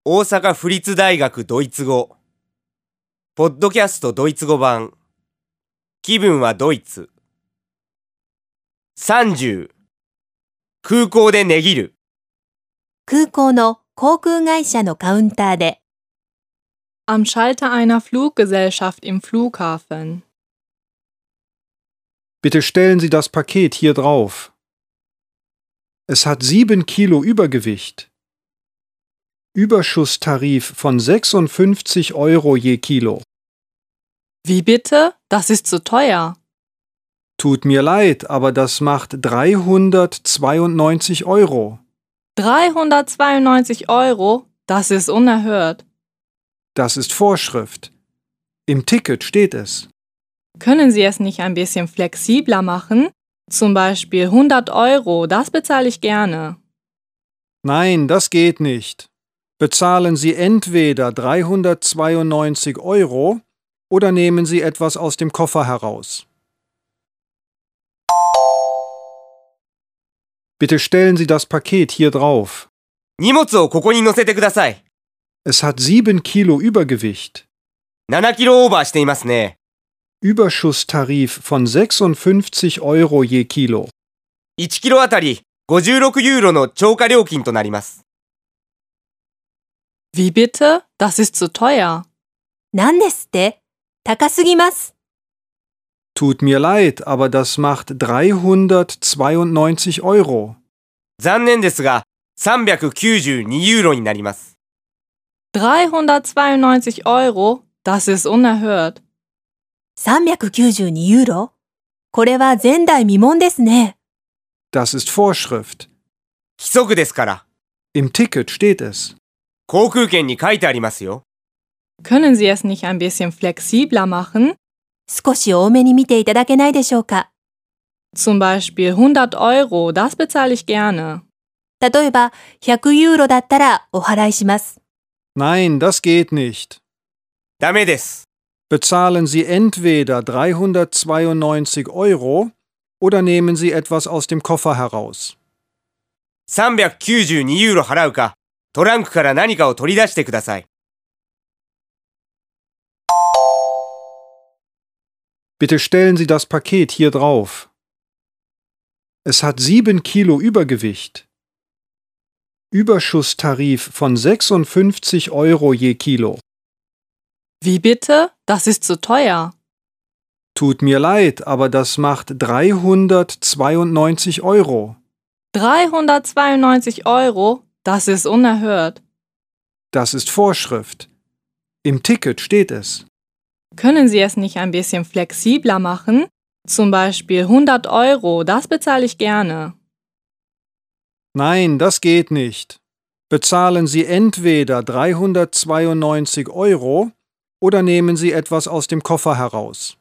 大阪府立大学ドイツ語ポッドキャストドイツ語版気分はドイツ30空港で値切る空港の航空会社のカウンターで Am Schalter einer Fluggesellschaft im Flughafen. Bitte stellen Sie das Paket hier drauf. Es hat 7 Kilo Übergewicht. Überschusstarif von 56 Euro je Kilo. Wie bitte? Das ist zu teuer. Tut mir leid, aber das macht 392 Euro. 392 Euro? Das ist unerhört. Das ist Vorschrift. Im Ticket steht es. Können Sie es nicht ein bisschen flexibler machen? Zum Beispiel 100 Euro, das bezahle ich gerne. Nein, das geht nicht. Bezahlen Sie entweder 392 Euro oder nehmen Sie etwas aus dem Koffer heraus. Bitte stellen Sie das Paket hier drauf. 荷物をここに乗せてください。 Es hat 7 Kilo Übergewicht. 7キロオーバーしていますね。 Überschusstarif von 56 Euro je Kilo. 1キロあたり56ユーロの超過料金となります。 Wie bitte? Das ist zu teuer. 何ですって高すぎます。 Tut mir leid, aber das macht 392 Euro. 残念ですが392ユーロになります。 392 Euro? Das ist unerhört. 392ユーロこれは前代未聞ですね。 Das ist Vorschrift. 規則ですから。 Im Ticket steht es. 航空券に書いてありますよ。 Können Sie es nicht ein bisschen flexibler machen? 少し多めに見ていただけないでしょうか。 Zum Beispiel 100 Euro, das bezahle ich gerne. 例えば100ユーロだったらお払いします。 Nein, das geht nicht. ダメです。 Bezahlen Sie entweder 392 Euro oder nehmen Sie etwas aus dem Koffer heraus. 392ユーロ払うか、トランクから何かを取り出してください。 Bitte stellen Sie das Paket hier drauf. Es hat 7 Kilo Übergewicht. Überschusstarif von 56 Euro je Kilo. Wie bitte? Das ist zu teuer. Tut mir leid, aber das macht 392 Euro. 392 Euro? Das ist unerhört. Das ist Vorschrift. Im Ticket steht es. Können Sie es nicht ein bisschen flexibler machen? Zum Beispiel 100 Euro, das bezahle ich gerne. Nein, das geht nicht. Bezahlen Sie entweder 392 Euro oder nehmen Sie etwas aus dem Koffer heraus.